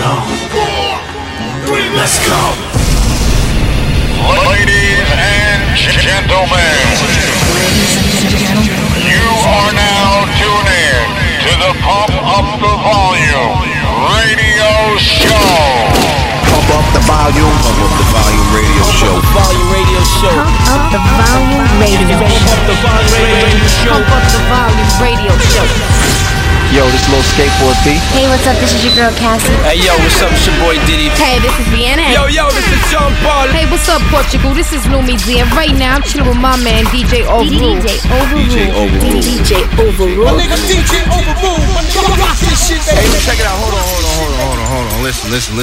go. 4, 3, let's go. Ladies and gentlemen, you are now tuned in to the Pump Up the Volume radio show. Pump up the volume. Pump up the volume radio show. Volume radio show. Pump up the volume radio show. Pump up the volume radio show. Pump up the volume radio show. Yo, this little skateboard B. Hey, what's up? This is your girl Cassie. Hey, yo, what's up? It's your boy Diddy. Hey, this is Vienna. Yo, this is John Paul. Hey, what's up, Portugal? This is Lumi Z. And right now, I'm chilling with my man, DJ Overrule. DJ Overrule. DJ Overrule. DJ Overrule. My nigga DJ Overrule. Rock this shit, baby. Hey, check it out. Hold on. Listen.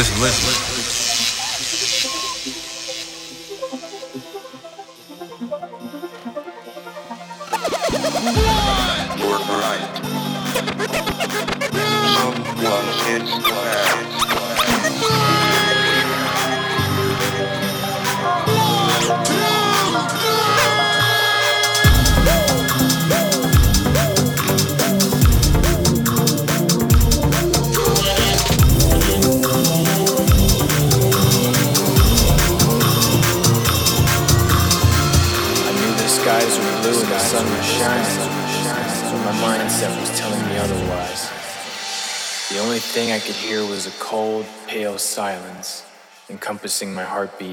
Work right. Someone hits glass. I knew the skies were blue and the sun was shining, but my mindset was telling me otherwise. The only thing I could hear was a cold, pale silence encompassing my heartbeat.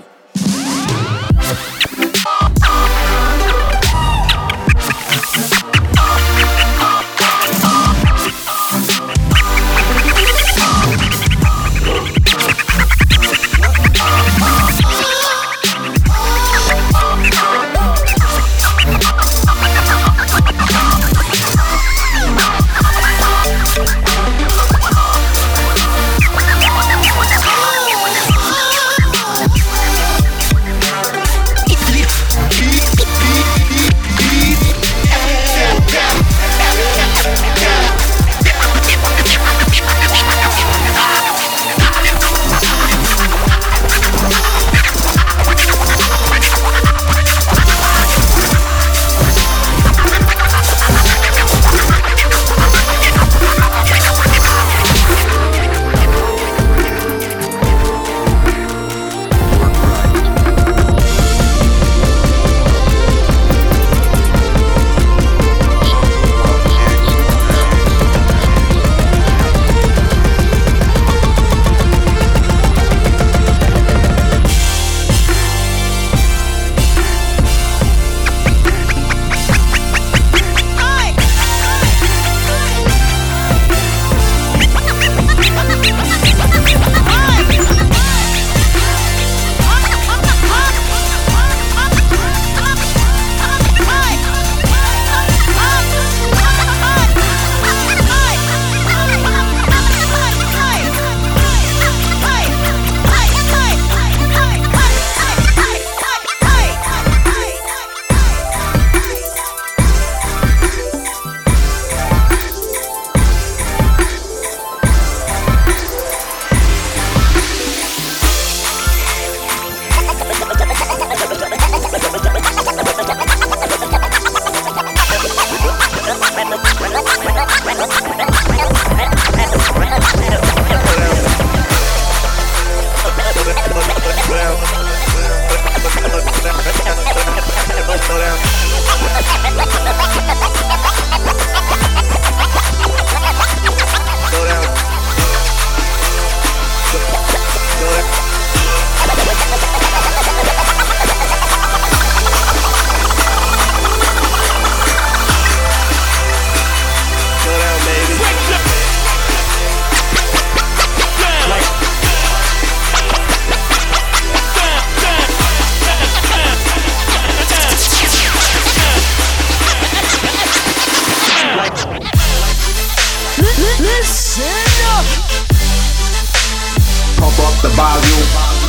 Pump up the volume.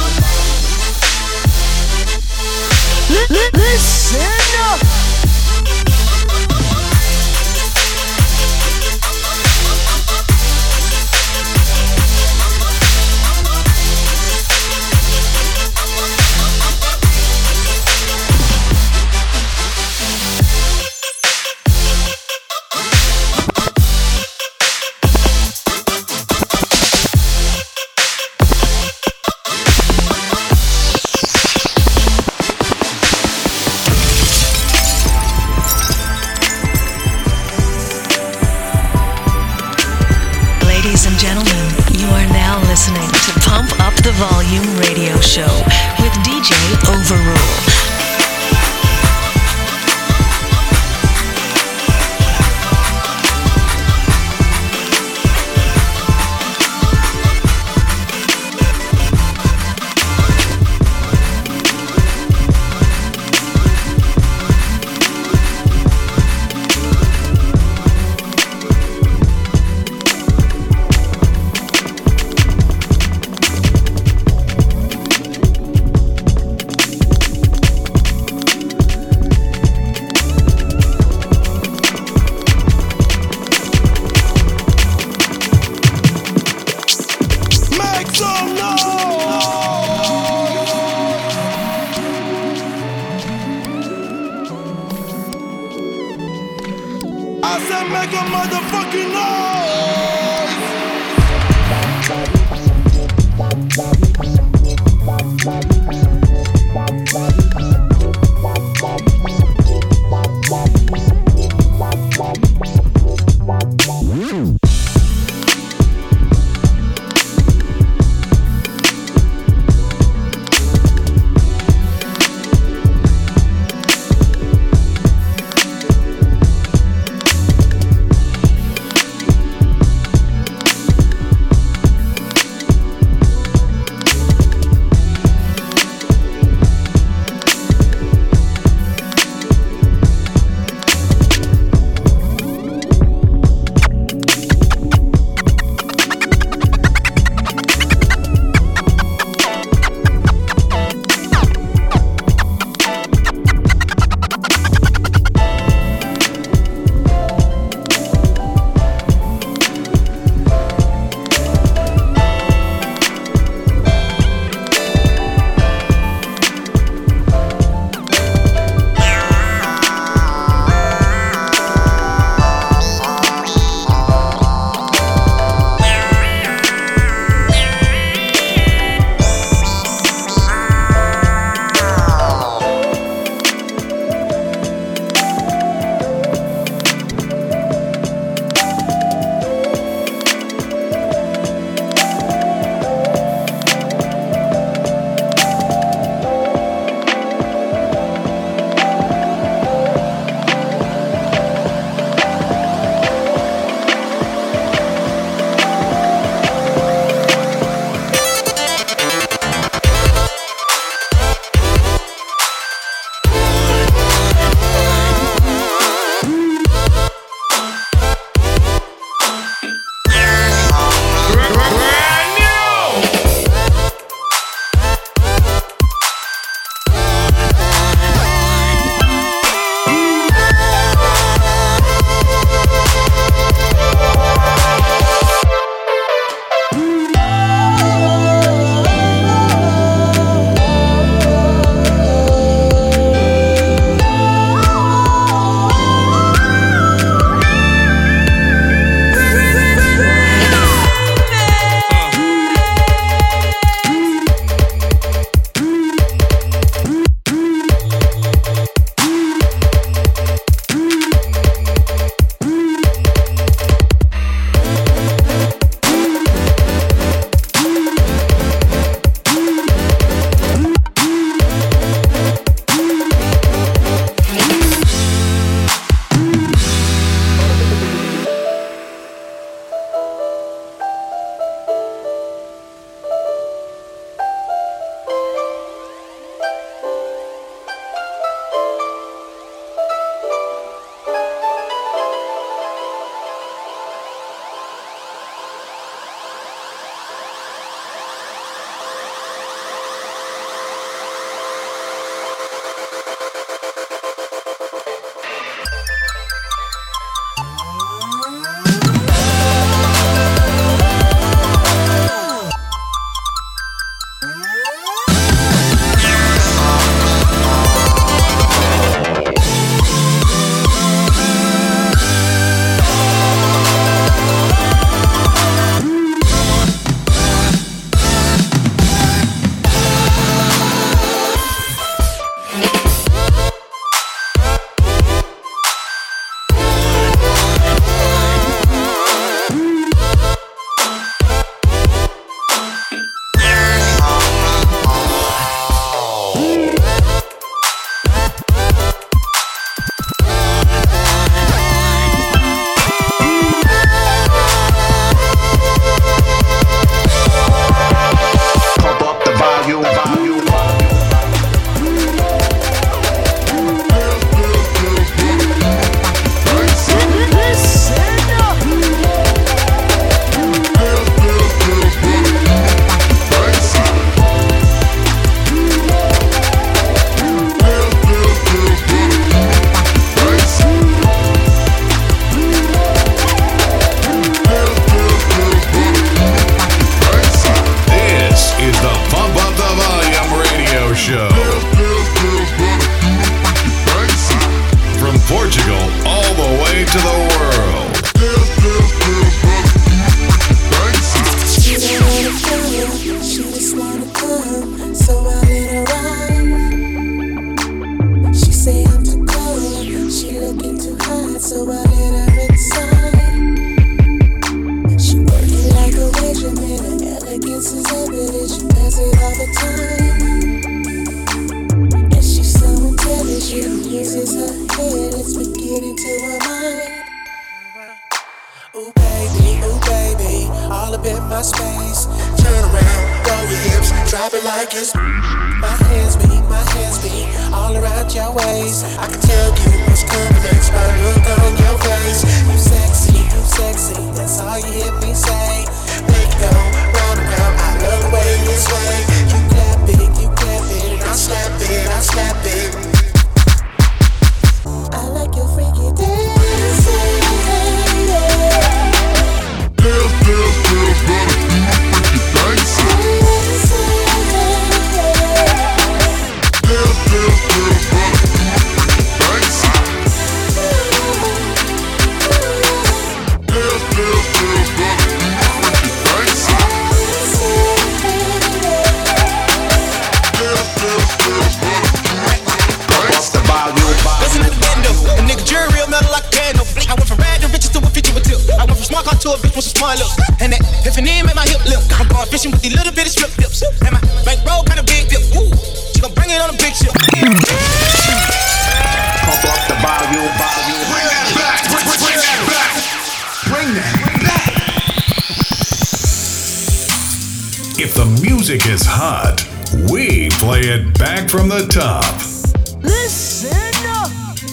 Listen up. with DJ Overrule. like it's my hands be all around your waist. I can tell you what's coming next by the look on your face. You sexy, that's all you hear me say. Make it go round and round, I love the way you sway. You clap it, and I'll slap it. I like your freaky dancing. Girls gotta do the freaky dancing. Girls gotta do the freaky dancing. Girls gotta do the freaky dancing. Off the volume. Listen to the bando, a nigga jury real metal like a candle. I went from rag to riches to a 50 with tip. I went from smart car to a bitch with some smart lips. And that Tiffany made my hip lip. I'm going fishing with these little bitty strip dips. And my bankroll kinda big dip. Woo, she gon' bring it on a big ship. Pump up the volume. Bring that back. Bring that back. Bring that back. If the music is hot, we play it back from the top. Listen up.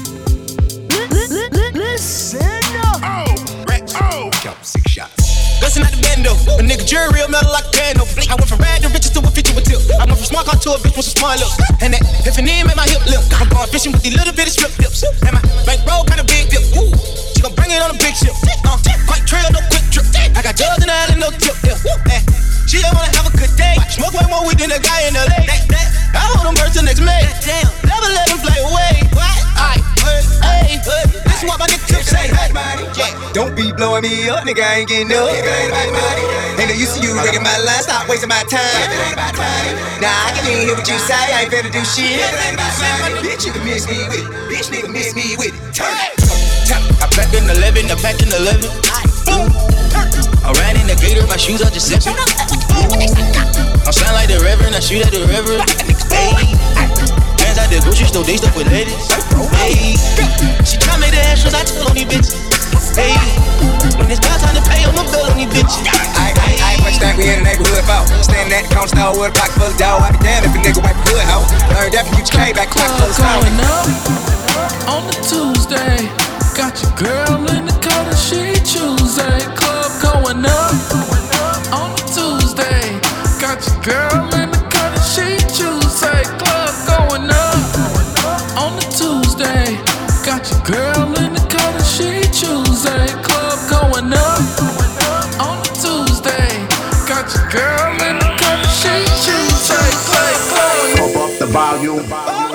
Listen up. Count 6 shots. Listen at the bando, a nigga jury real metal like a candle. I went from rag to riches to a 50 with tip. I went from smart car to a bitch with some smart lips. And that Tiffany made my hip lip. I'm going fishing with these little bitty strip dips. And my bankroll kinda big dip. Woo, she gon' bring it on a big ship. Quite trail, no quick trip. I got drugs in the alley, no tip. She just wanna have a good day. Smoke way more weed than a guy in LA. I hold them birds till next May. Never let them fly away. Hey, this is what my nigga Tip say. Don't be blowing me up, nigga, I ain't getting up. Ain't no use to you rigging my line, stop wasting my time. Nah, I can even hear what you say, I ain't finna do shit. Bitch, you can miss me with it. Bitch, nigga, miss me with it. Turn it. I packed in 11, I packed in 11. Boom. I ran in the gator, my shoes are just zipping. I sound like the reverend, I shoot at the reverend. Hey. Hands out the grocery store, they stuff with ladies. Hey. She try me the extras, I tell on these bitches. Hey. When it's about time to pay, I'ma bill on these bitches. I ain't much time we in the neighborhood about. Standing at the counter store with a pocket full of dough. I be damn if a nigga wipe the hood out. Learned that from UGK back clock full of sound. Going up on the Tuesday. Got your girl in the color she Tuesday. Club going up on the Tuesday. Got your girl in the color she Tuesday. Club going up on the Tuesday. Got your girl in the color she Tuesday. Club going up on the Tuesday. Got your girl in the color she Tuesday. Club. Pump up the volume.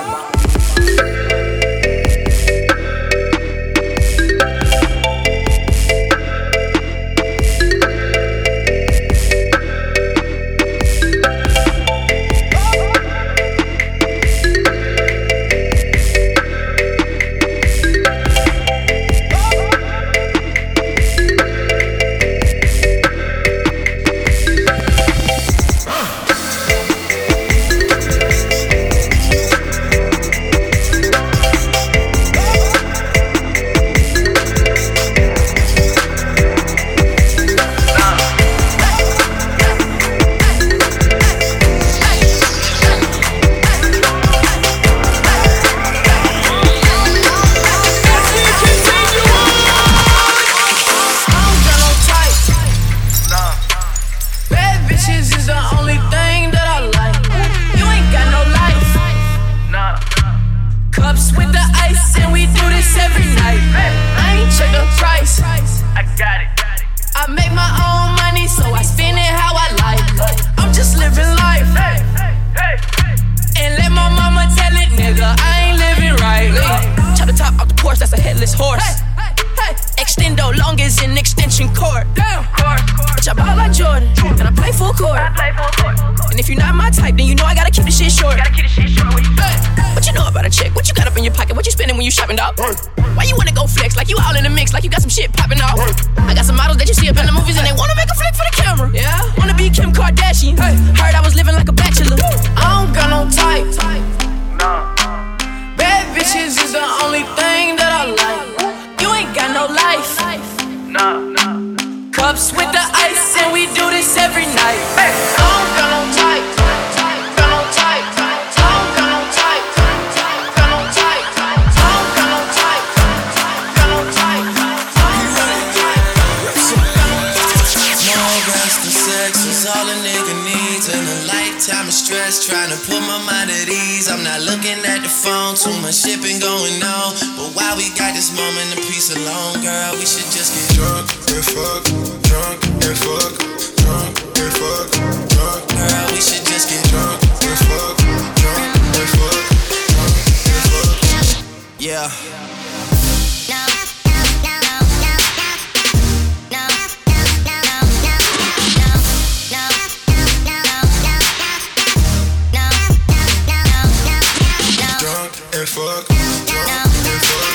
Why you wanna go flex like you all in the mix, like you got some shit popping off? I got some models that you see up in the movies and they wanna make a flick for the camera. Yeah, wanna be Kim Kardashian. Heard I was living like a bachelor. I don't got no type. Bad bitches is the only thing that I like. You ain't got no life. Cups with the ice and we do this every night. I don't got no type. these. I'm not looking at the phone, too much shipping going on. But while we got this moment of peace alone, girl, we should just get drunk and fuck, drunk and fuck, drunk and fuck, drunk. Girl, we should just get drunk and fuck, drunk and fuck, drunk and fuck. Yeah. And fuck, drunk and fuck,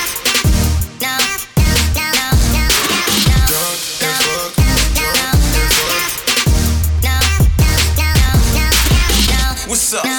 drunk and fuck, drunk and fuck. What's up?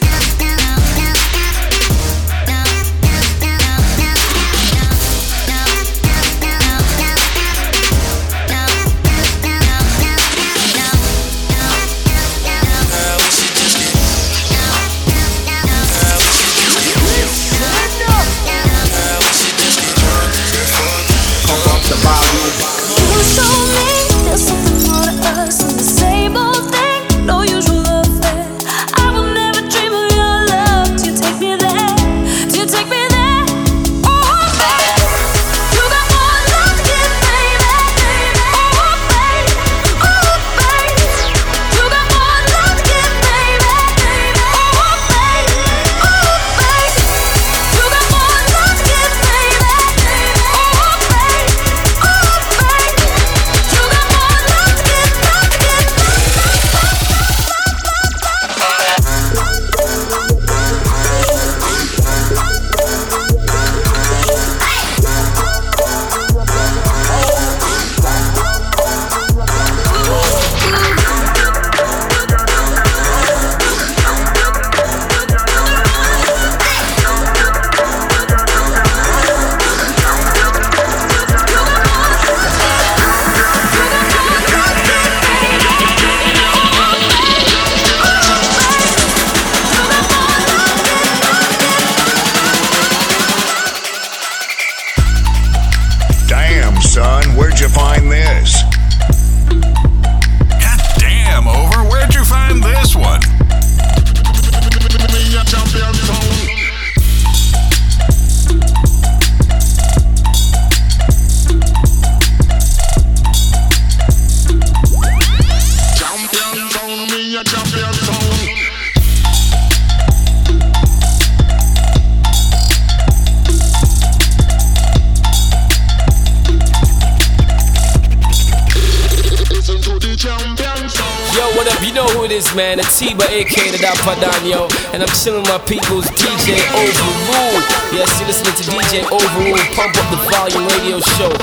Man, Atiba, aka the Dapadano, and I'm chilling with my people's DJ Overrule. Yes, you're listening to DJ Overrule, Pump Up the Volume radio show.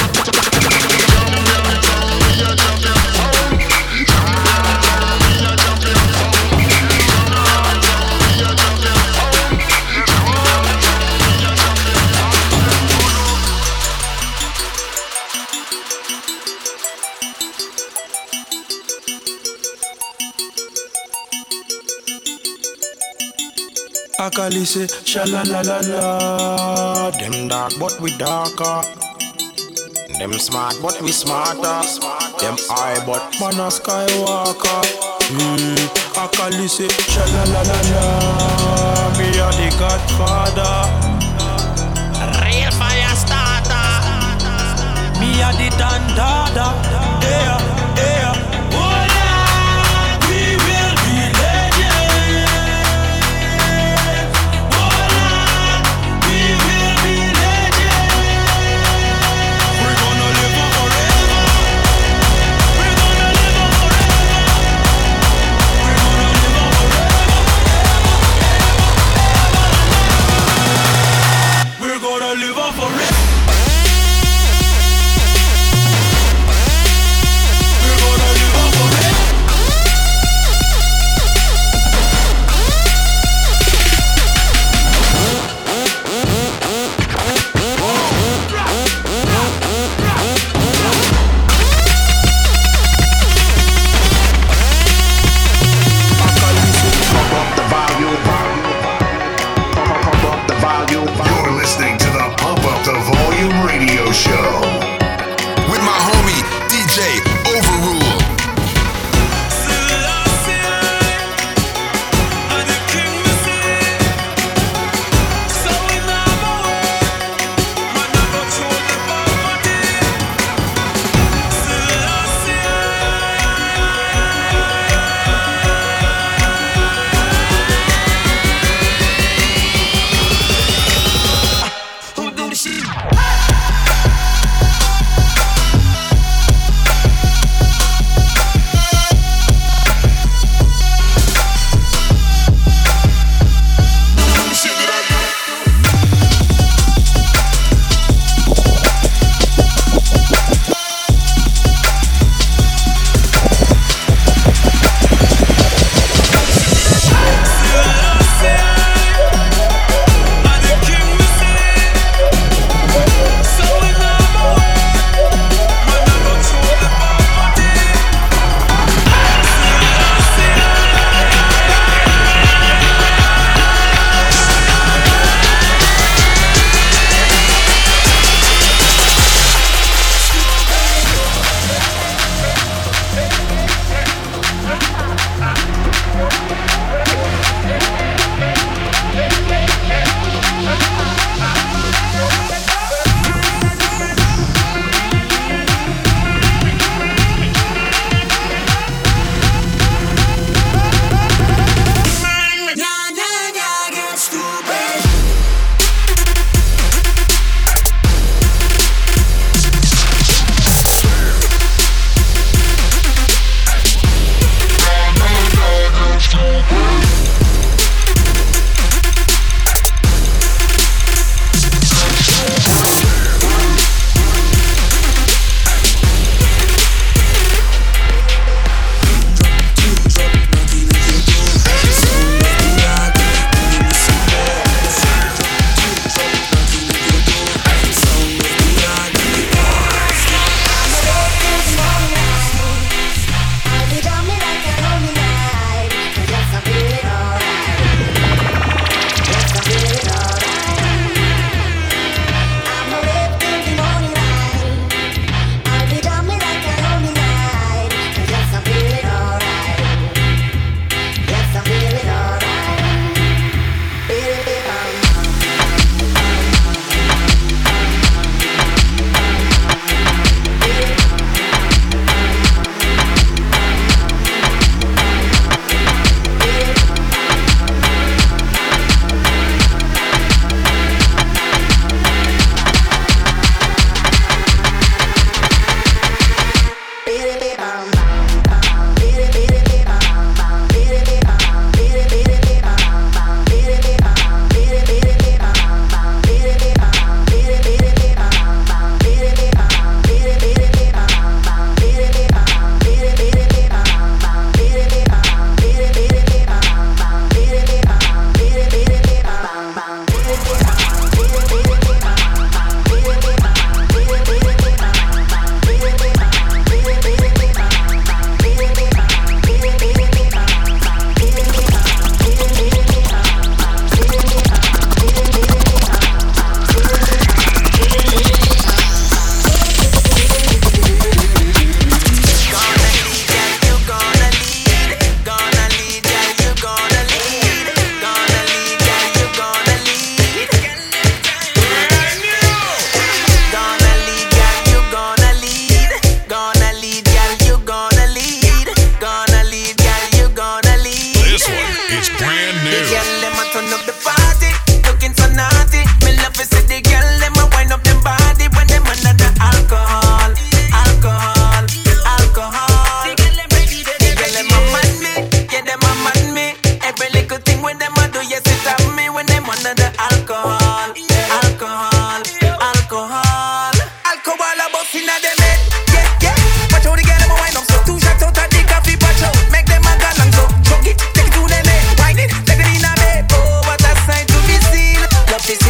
Akali say, sha-la la la la. Them dark but we darker. Them smart but we smarter. Them high but man a skywalker. Akali say, sha-la la la la. Me a the Godfather, real fire starter. Me a the Dandada. Yeah, yeah.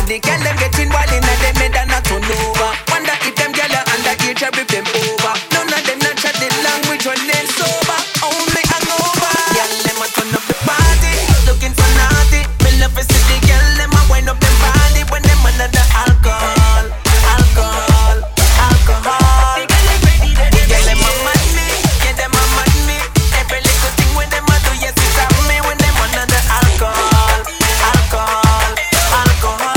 the girl them getting wild inna them head and not turn over. Wonder if them gyal are underage or if them over. None of them not chat the language when they sober. Only hangover. Gyal them a turn up the party, looking so naughty. Me love to see the gyal them a wind up them body when them under the alcohol, alcohol, alcohol. The gyal them a mad me, yeah them a mad me. Every little thing when them a do, yes it's at me when them under the alcohol, alcohol, alcohol.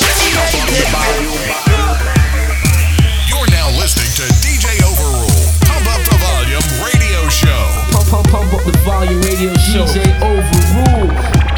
You're now listening to DJ Overrule, Pump Up the Volume Radio Show. Pump up the volume radio show. DJ Overrule.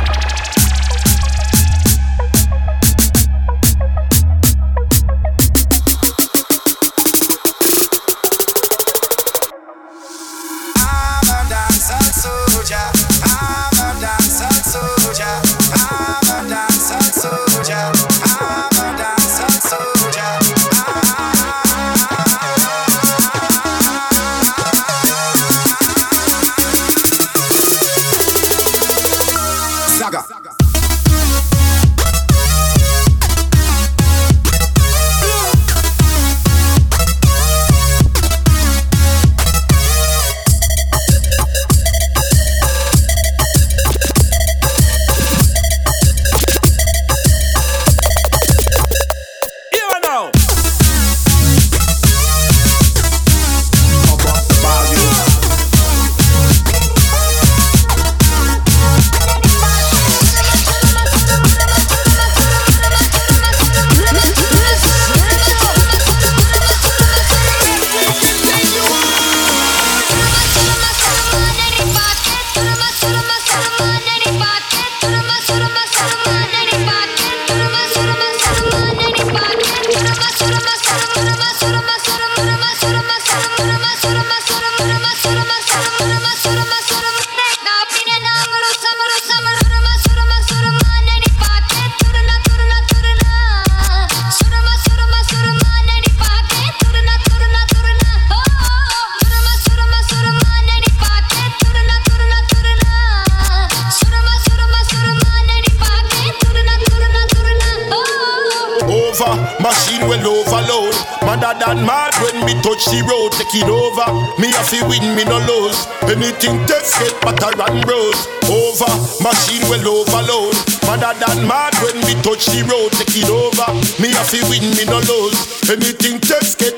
Machine will overload. Madder than mad when me touch the road. Take it over. Me a fi win, me no lose. Anything test get butter and rose. Over. Machine will overload. Madder than mad when me touch the road. Take it over. Me a fi win, me no lose. Anything test get.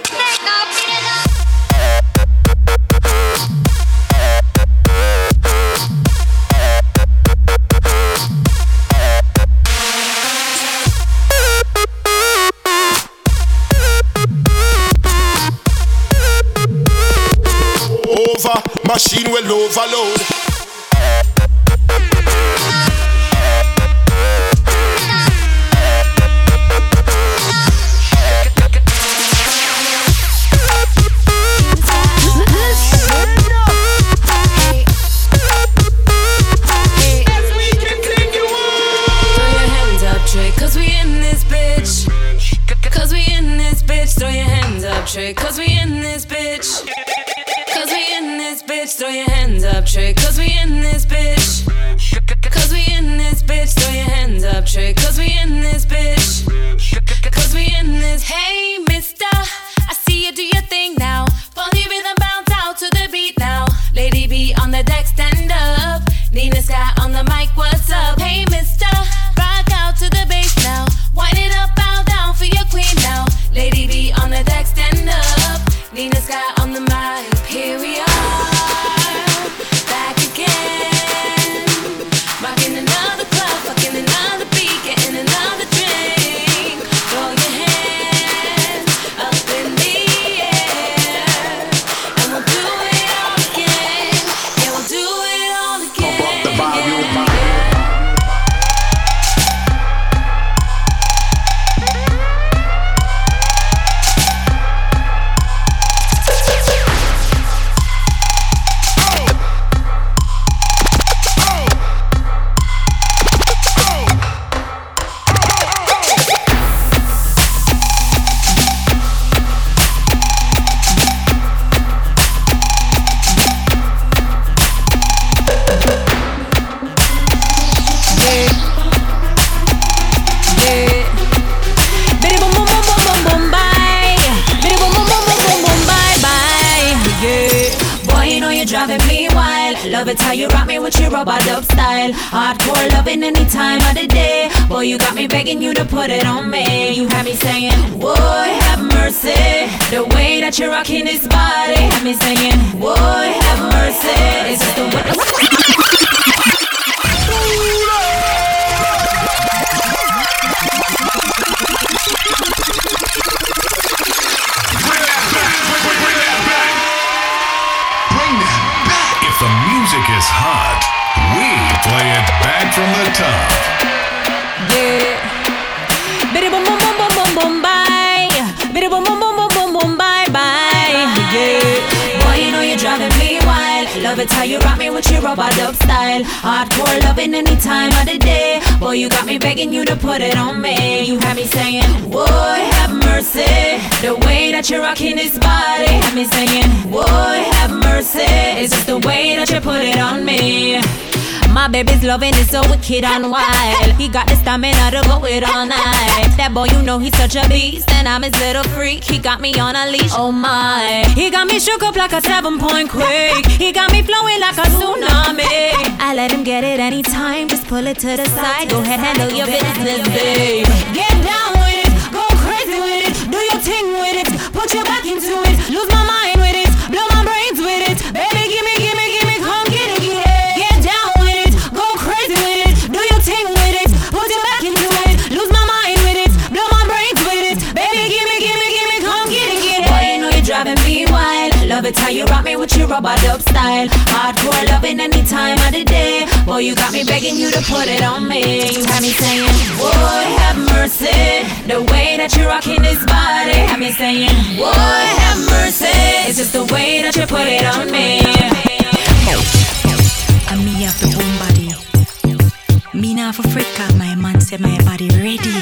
Machine will overload. Cause we in this bitch. Cause we in this bitch. Throw your hands up, Trey. Cause we in this bitch. Cause we in this bitch, throw your hands up, Trey. Cause we in this bitch. Cause we in this bitch, throw your hands up, Trey. Cause we in this bitch. Cause we in this. Hey, mister, I see you do your thing now. Funny rhythm bounce out to the beat now. Lady B on the deck, stand up. Nina Sky on the mic, what's up? Hey, mister, rock out to the bass now. Wind it up, bow down for your queen now. Lady B on the deck, stand up. Nina Sky on the mic, here we are, back again. Rocking another club, fucking another beat, getting another drink. Throw your hands Love it how you rock me with your robot dub style. Hardcore loving any time of the day. Boy, you got me begging you to put it on me. You had me saying, boy, have mercy. The way that you're rocking this body. Had me saying, boy, have mercy. It's just the way. The music is hot. We play it back from the top. Yeah. Biddy boom boom boom boom boom boom bye. Biddy boom boom boom boom boom boom bye bye. Yeah. Boy, you know you're driving me wild. Love it how you rock me with your robot dub style. Hardcore loving any time of the day. Boy, you got me begging you to put it on me. You had me saying, boy, have mercy. The way that you're rocking this body. Had me saying, boy, have mercy. It's just the way that you put it on me. My baby's loving is so wicked and wild. He got the stamina to go it all night. That boy, you know he's such a beast, and I'm his little freak. He got me on a leash, oh my. He got me shook up like a 7-point quake. He got me flowing like a tsunami. I let him get it anytime, just pull it to the side. Go ahead, handle your business, babe. Get down with it, go crazy with it, do your thing with it, put your back into it, lose my mind with it, blow my brains with it. Baby, give me, come get it, get it. Love it how you rock me with your robot dub style. Hardcore loving any time of the day. Boy, you got me begging you to put it on me. You had me saying, boy, have mercy. The way that you're rocking this body. Had me saying, boy, have mercy. It's just the way that you put it on me. And me have the boom body. Me now for Africa, my man said my body ready.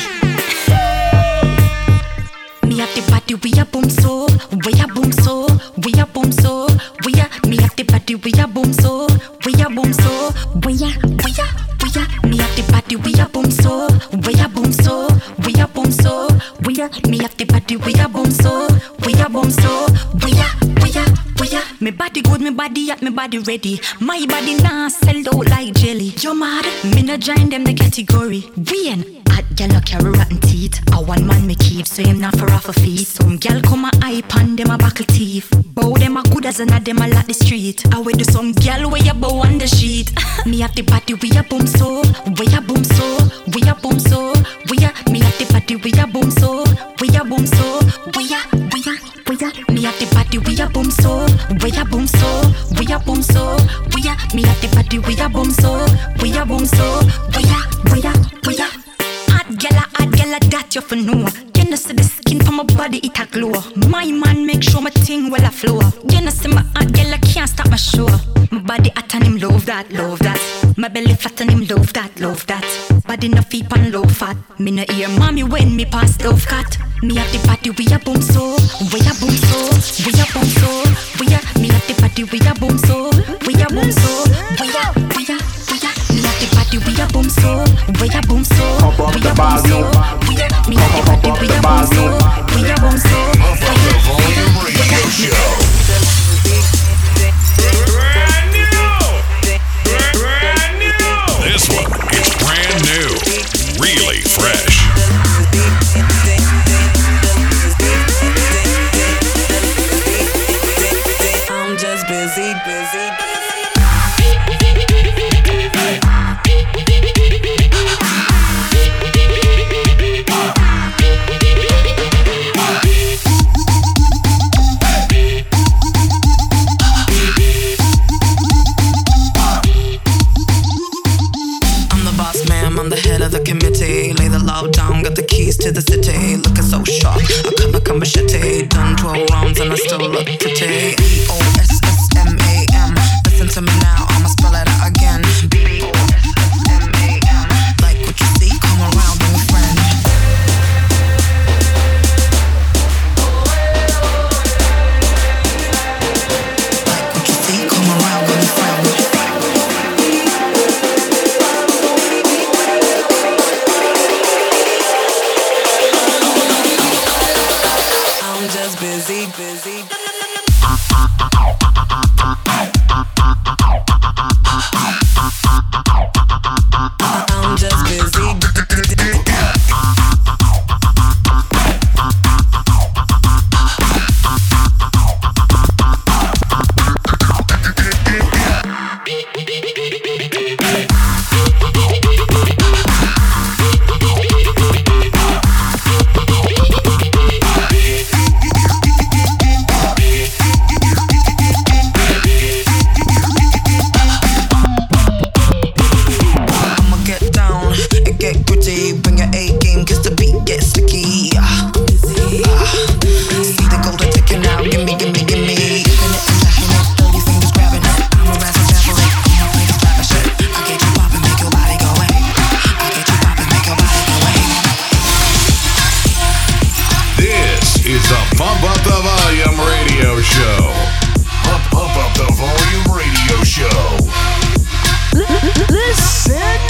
Me have the body, we a boom so, we a boom so, we a boom so, we a. Me have the body, we a boom so, we a boom so, we a. Me have the body, we a boom so, we a boom so, we a boom so, we a. Me have the body, we a boom so, we a boom so, we a. Me body good, me body hot, me body ready. My body nah sell out like jelly. You mad? Me no join them the category. Win. Hot gal no carry rotten teeth. A one man me keep, so him not for off a feet. Some gal come a hype and them a buckle teeth. Bow them a good as another them a lot the street. I with do some gal where you bow on the sheet. Me have the body we a boom so, we a boom so, we a boom so, we a. Me have the body we a boom so, we a boom so, we a. Me have the body we a boom so, we a boom so, we a boom so, we a. Me have the body we a boom so, we a boom so, we a. Hot gala, that you for know. You know see the skin from my body it a glow. My man make sure my thing well a flow. You know see my hot gala can't stop my show. My body hot and him love that. My belly flat and him love that. Body no feet and low fat. Me no hear mommy when me pass love cat. Me have the body we a boom so, we a boom so, we a boom so, we a. Me have the body we a boom so, we a boom so, we a. Me have the body we a boom so, we a boom so, we a boom so, we a. Me have the body we a boom so, we a boom so, we a. This one is brand new, really fresh. I'm just busy. I'm the head of the committee. Lay the law down, got the keys to the city. Looking so sharp, I cut like a machete. Done 12 rounds and I still look pretty. B-O-S-S-M-A-M. Listen to me now, I'ma spell it out again. B-O-S-S-M-A-M. Like what you see, come around, bring a friend. Like what you see, come around, bring a friend. Busy. Pump Up the Volume Radio Show. Pump Up the Volume Radio Show. Listen.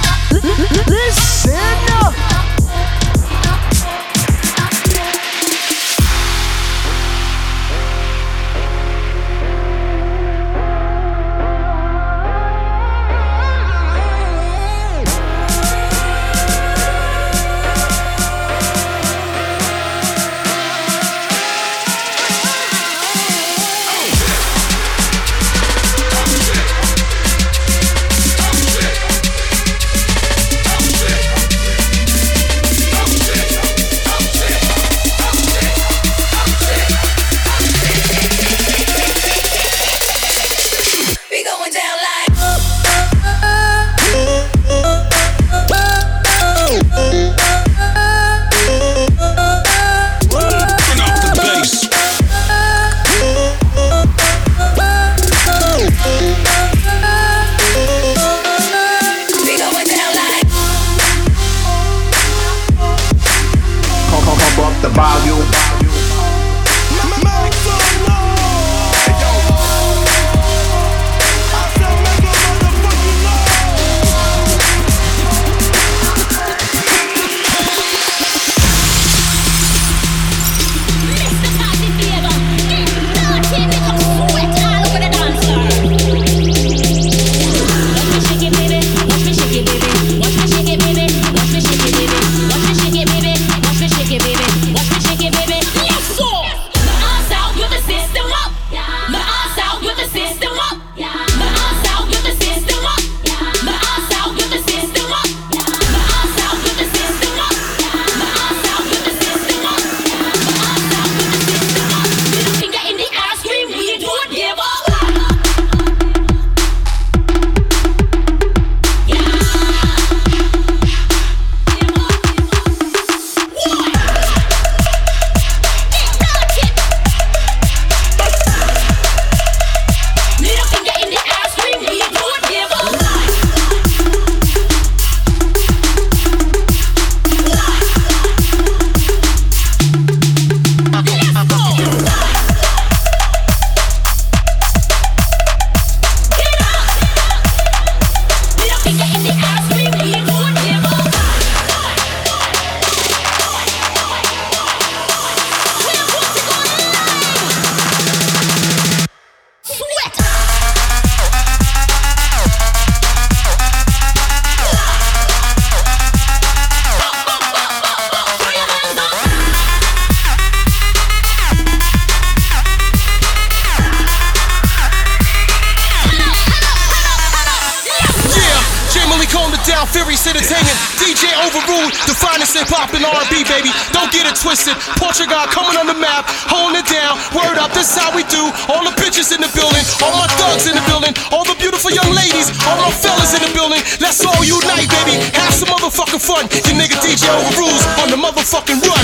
DJ Overruled, the finest hip-hop and R&B, baby. Don't get it twisted. Portugal coming on the map, holding it down. Word up, this is how we do. All the bitches in the building, all my thugs in the building, all the beautiful young ladies, all my fellas in the building. Let's all unite, baby. Have some motherfucking fun. Your nigga DJ Overrules on the motherfucking run.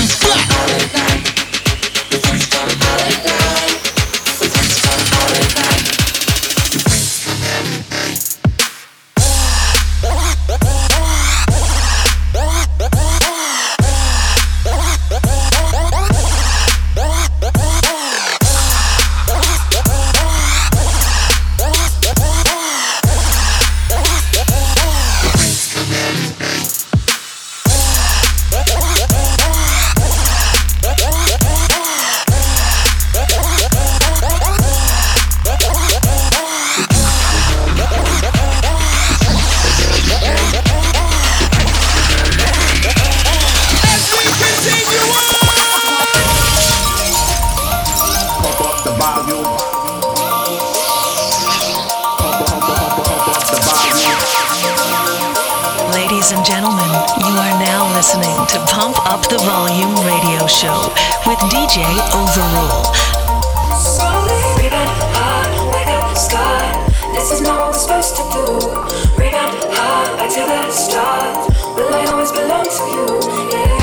Ladies and gentlemen, you are now listening to Pump Up the Volume Radio Show with DJ Overrule. Rebound high, like up the sky. This is not what we're supposed to do. Rebound high, back to the start. Will I always belong to you? Yeah.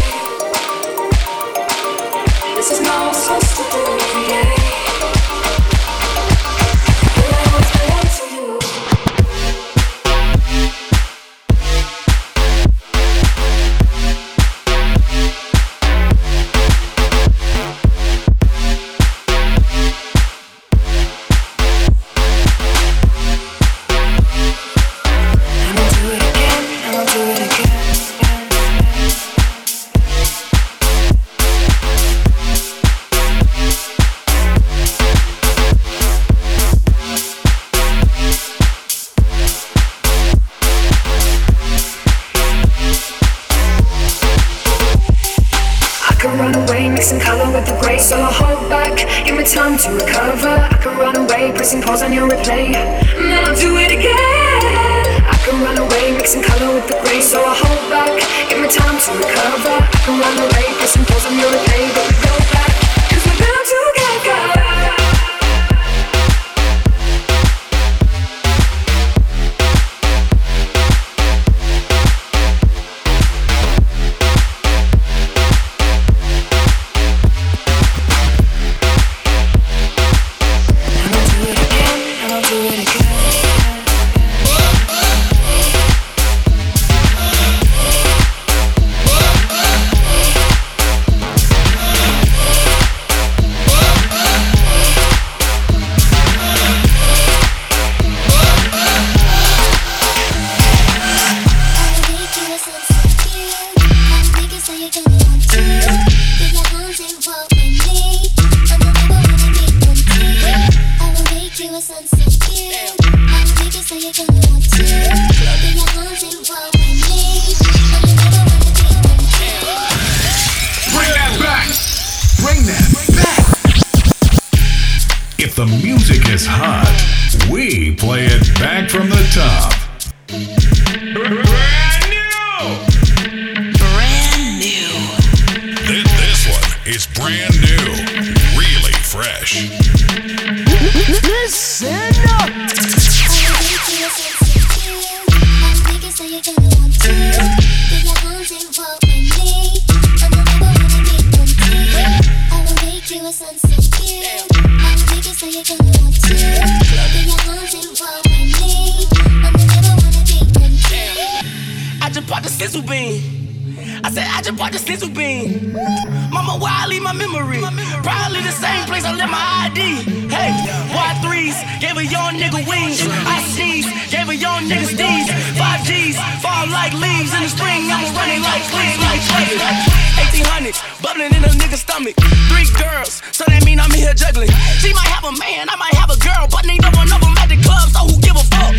This is not what we're supposed to do. Yeah. Will I always belong to you? mixing color with the gray. So I hold back, give me time to recover. I can run away, pressing pause on your replay, and then I'll do it again. I can run away, mixing color with the gray. So I hold back, give me time to recover. I can run away, pressing pause on your replay, but we go back, 'cause we're bound to get back. If the music is hot, we play it back from the top. Brand new. This one is brand new, really fresh. Listen up. I just bought the sizzle bean. I said I just bought the sizzle bean. Mama, why I leave my memory? Probably the same place I left my ID. Hey, Y3s gave a young nigga wings. I sneeze, gave a young nigga steez. 5Gs fall like leaves in the spring. I'm running like fleas, like 1800s bubbling in a nigga's stomach. 3 girls, so that mean I'm here juggling. She might have a man, I might have a girl, but neither one of them at the club, so who give a fuck?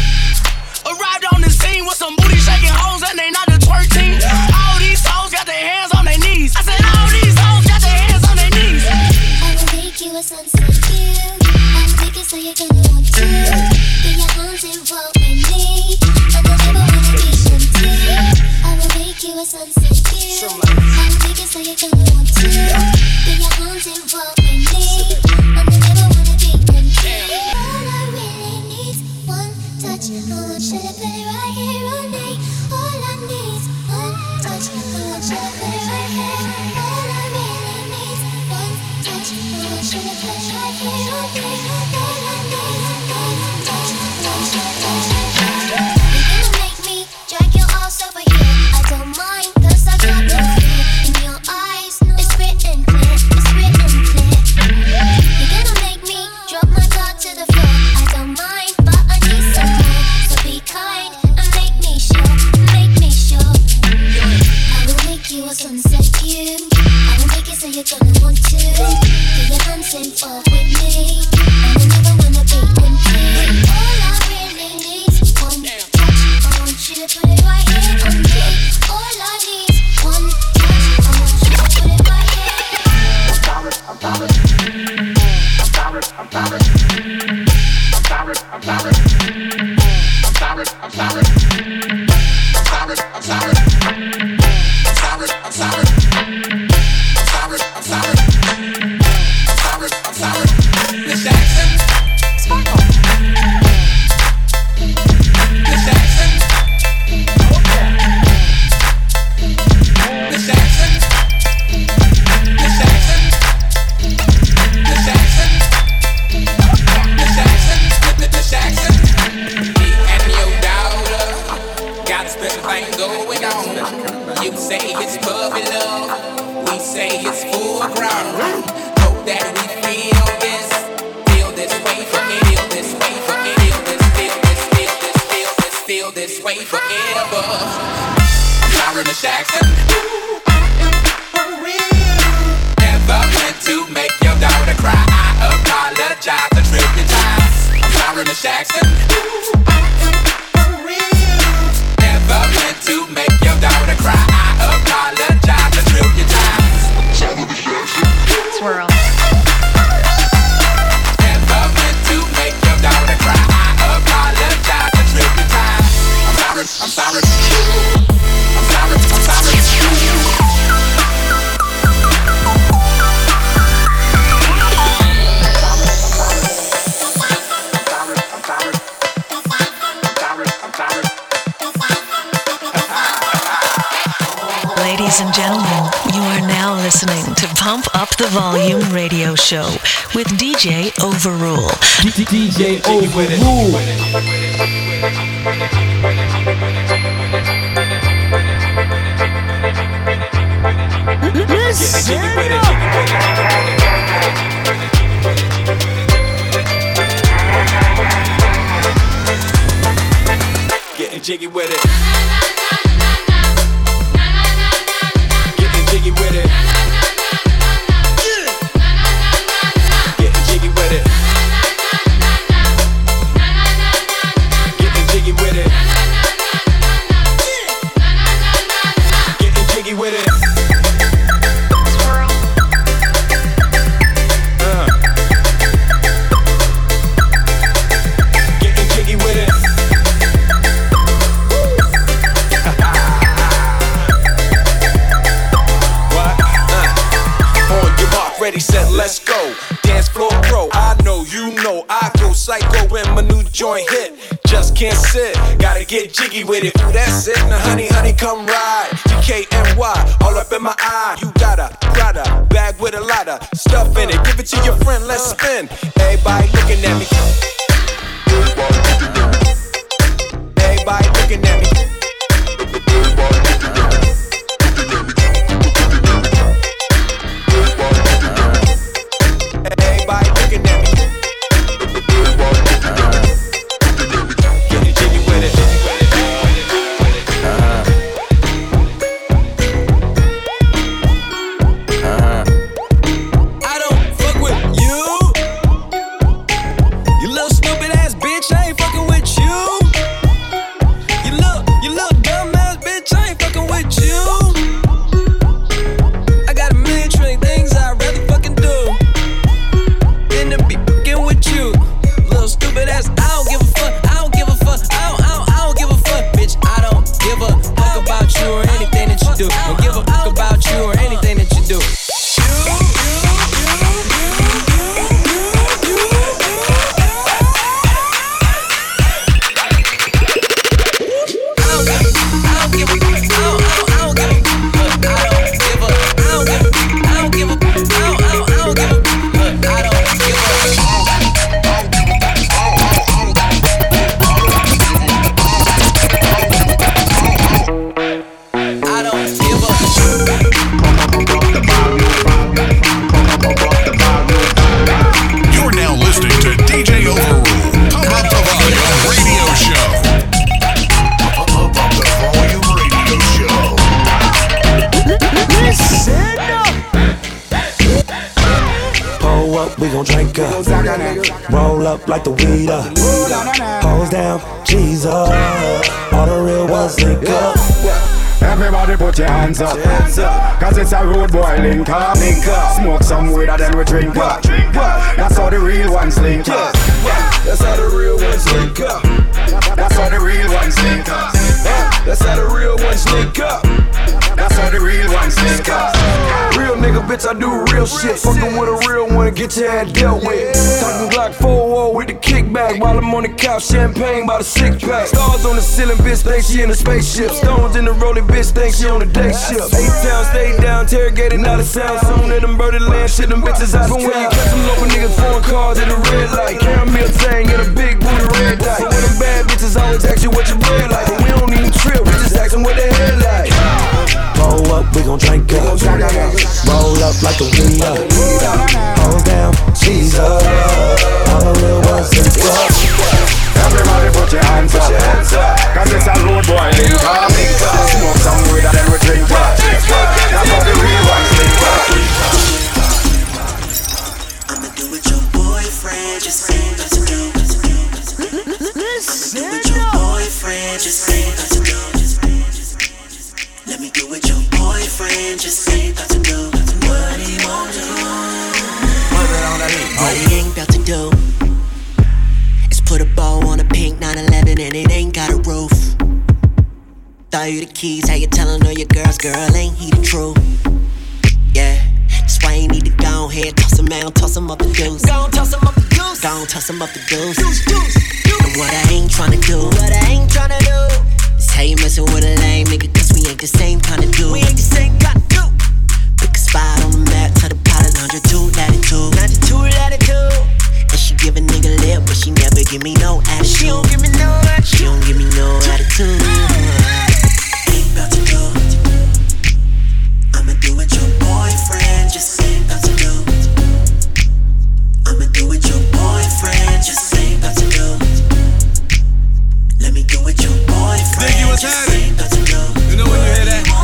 Arrived on the scene with some booty shaking hoes and they not the twerk team. All these hoes got their hands on their knees. I said all these hoes got their hands on their knees. I will make you a sunset view. I'll make it so you're gonna want to. Get your arms involved with me, and I never wanna be empty. I will make you a sunset view. I'll make it so you're gonna want to. Get your arms involved with me, and I never wanna be empty. All I really need one touch. Oh, should I put it right here on me? All I need one touch. Oh, should I put it right here? All I really need one touch. Oh, should I put it right here on me? All I need one touch. Oh, should I put it right here? You're gonna make me drag your ass over here. I don't mind, 'cause I got no fear in your eyes. It's written clear. It's written clear. You're gonna make me drop my guard to the floor. I don't mind, but I need some more. So be kind and make me sure. Make me sure. I will make you a sunset view. I will make it so you're gonna want to. Get your hands involved with me, and I never wanna be empty. All I really need is one touch. I want you to put it right here on me. All I need is one touch. I want you to put it right here. I'm sorry. I'm sorry. I'm sorry. I'm sorry. I'm sorry. I'm sorry. I'm sorry. I'm sorry. I'm sorry. I'm sorry. I'm sorry. I'm sorry. I'm sorry. Miss Jackson. Sparkle. Miss Jackson. Miss Jackson. Miss Jackson. Miss Jackson. Miss Jackson. Miss Jackson. Me and your daughter got a special thing going on. You say it's puppy love, we say it's full grown. Hope that we feel this way forever. Feel this way forever. I'm sorry, Miss Jackson. Never meant to make your daughter cry. I apologize a trillion times. I'm sorry, Miss Jackson. Never meant to make your daughter cry. I apologize a trillion times. Ladies and gentlemen, you are now listening to Pump Up the Volume radio show with DJ Overrule. DJ Overrule. Getting jiggy with it. Getting jiggy with it. Getting jiggy with it. Getting jiggy with it. Getting jiggy with it. Getting jiggy with it. Ready, set, let's go. Dance floor pro. I know, you know, I go psycho when my new joint hit. Just can't sit, gotta get jiggy with it. Ooh, that's it. Now, honey, honey, come ride. DKNY, all up in my eye. You got a Prada bag with a lot of stuff in it. Give it to your friend, let's spin. Everybody looking at me. Everybody looking at me. Everybody looking at me. Getting jiggy with it. I don't fuck with you. You little stupid ass bitch, I ain't fucking with you. You little dumb ass bitch, I ain't fucking with you. I got a million trillion things I'd rather fucking do than to be fucking with you. Little stupid ass, I don't give a fuck. I don't give a fuck. I don't give a fuck, bitch. I don't give a fuck about you or anything that you do. Don't give a fuck about you or anything that you do. You're now listening to DJ Overrule. Pump Up the Volume radio show. Pump Up the Volume radio show. Pull up, we gon' drink up. Roll up like the weed up. Pose down, G's up. All the real ones link up. Everybody put your hands up, cause it's a road boy link up. Smoke some weed and then we drink up. That's how the real ones link up. That's how the real ones link up. That's how the real ones link up. That's how the real ones link up. That's how the real ones link up. Real nigga, bitch, I do real shit. Fucking with a real one and get your head dealt with. Talking Glock 4-0 with the kickback while I'm on the couch, champagne by the 6-pack. Stars on the ceiling, bitch, think she in a spaceship. Stones in the rolling, bitch, think she on a day shift. 8 town, stay down, interrogated, not a sound. Soon in them birdie land, shit, them bitches out of town. When you catch them local niggas, foreign cars at the red light. Caramel tang and a big booty red dye. So when them bad bitches always ask you what your bread like. But we don't even trip, we just ask them what their head like. Roll up, we gon' drink up. Roll up like the weed up. Pose down, G's up. All the real ones link up. Everybody put your hands up, cause it's a road boy link up. Smoke some weed and then we drink up. That's how the real ones link up. I'ma do what your boyfriend just said not to do. I'ma do what your boyfriend just said not to do. Let me do what your boyfriend just said not to do. What he won't do. What he ain't about to do is put a bow on a pink 911 and it ain't got a roof. Throw you the keys, how you tellin' all your girls, girl, ain't he the truth? Yeah, that's why you need to go ahead, toss him out, toss him up the deuce. Go toss him up the deuce. Go toss him up the deuce. And what I ain't tryna do is how you messin' with a lame nigga, cause we ain't the same kind of dude. We ain't the same kind of dude. Pick a spot on the map, tell the pilot longitude, latitude. Longitude, latitude. And she give a nigga lip, but she never give me no attitude. She don't give me no attitude. She don't give me no attitude. Ain't about to do. I'ma do it your boyfriend. Just ain't about to do. I'ma do it your boyfriend. Just ain't about to do. Let me do it your boyfriend. Think you was happening. You know when you hear that?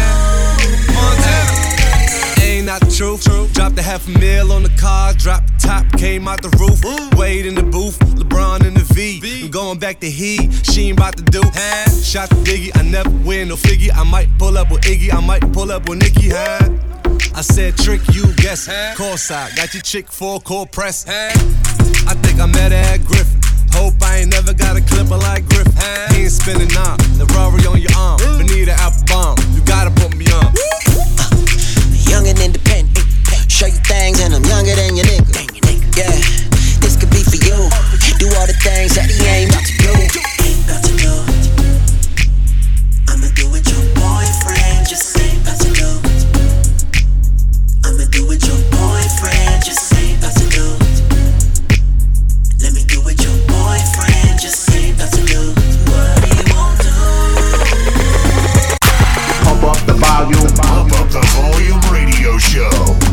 Montana. Ain't not the truth. Dropped a $500,000 on the car. Dropped the top, came out the roof. Wade in the booth, LeBron in the V. I'm going back to he. She ain't about to do. Shot the Diggy, I never win no figure. I might pull up with Iggy, I might pull up with Nicki. I said trick, you guess. Call side, got your chick for core press. I think I met her at Griffin. Hope I ain't never got a clipper like Griffin. He ain't spinning on the Rory on your arm. Benita Applebomb, you gotta put me on. Young and independent, show you things and I'm younger than your nigga. Yeah, this could be for you. Do all the things that he ain't about to do. Ain't about to do. I'ma do it your boyfriend. Just ain't about to do. I'ma do it your boyfriend. Just ain't about to do. Let me do it your boyfriend. Just ain't about to do. What do you want to do? Pump up the volume. Pump up the volume radio show.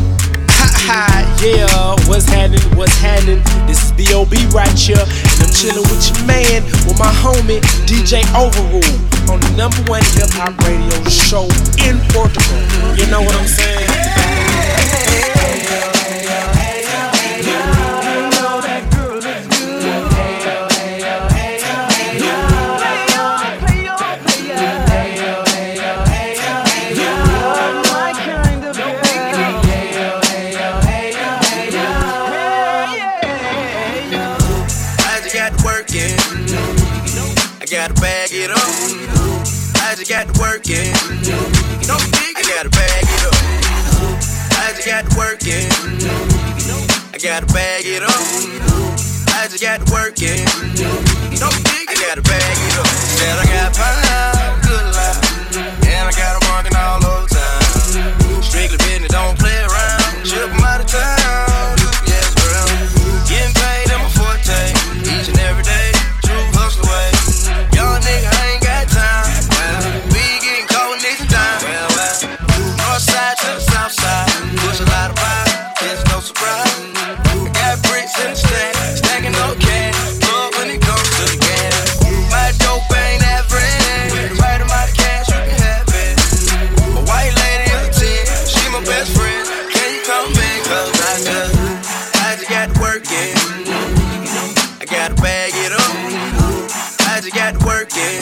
Yeah, what's happening? This is B.O.B. right here, and I'm chilling with your man, with my homie, DJ Overrule, on the #1 hip-hop radio show in Portugal. You know what I'm saying? Got to work it. No big, I gotta bag it up. I just got to work it. I gotta bag it up. I just got to work it. No big, I gotta bag it up. Said I got power, good life, and I got them working all over time. Strictly business, don't play around. Ship them out of town. Yes, girl. Getting paid in my forte, each and every day. True hustle way. Young nigga, I ain't got time. Side to the south side, push a lot of vibe, there's no surprise. I got bricks in the stack, stacking no cash, love when it comes to the gas. My dope ain't average, with the right amount of cash you can have it. My white lady is a 10, she my best friend, can you come in? Cause I just got to work it, I gotta bag it up. I just got to work it,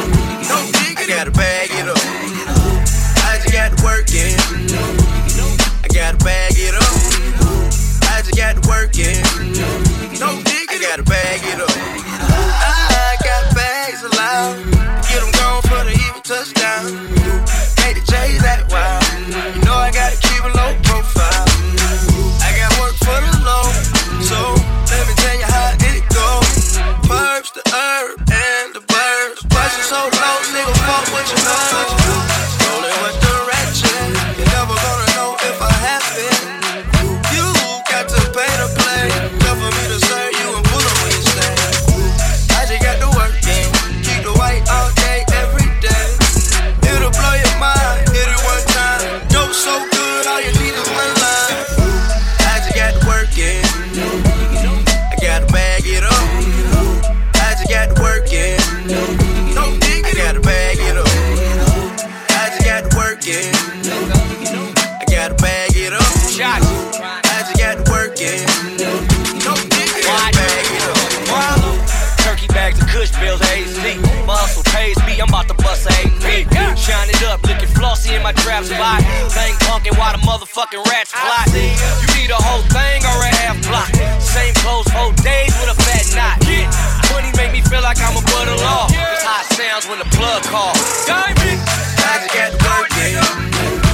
I gotta bag it up. I just got to work it. I gotta bag it up. I just got to work it. No dig, I gotta bag it up. I got bags allowed. Get them gone for the even touchdown. Hate to chase that wild. You know I gotta keep a low profile. I got work for the low. So let me tell you how it goes. Perps, the herb, and the birds. Price is so low, nigga, fuck what you know. Rolling with the ratchet, you're never gonna know if I have it. You got to pay to play, cover me to serve you and pull on when you stay. I just got to work it, keep the white all day, every day. It'll blow your mind, hit it one time. Dope so good, all you need is one line. I just got to work it, I gotta bag it up. I just got to work it, no dig, I gotta bag it up. I just got to work it. I gotta bag it up. I just got to work it. No dick, I gotta bag it up. Turkey bags of Kush bills, AZ. My hustle pays me, I'm about to bust a AP. Shine it up, looking flossy in my trap spot. Thing punkin' while the motherfucking rats plot. You need a whole thing or a half block. Same clothes, 4 days with a fat knot. Money make me feel like I'm above the law. It's hot sounds when the plug calls. Diamond! I just got to work it.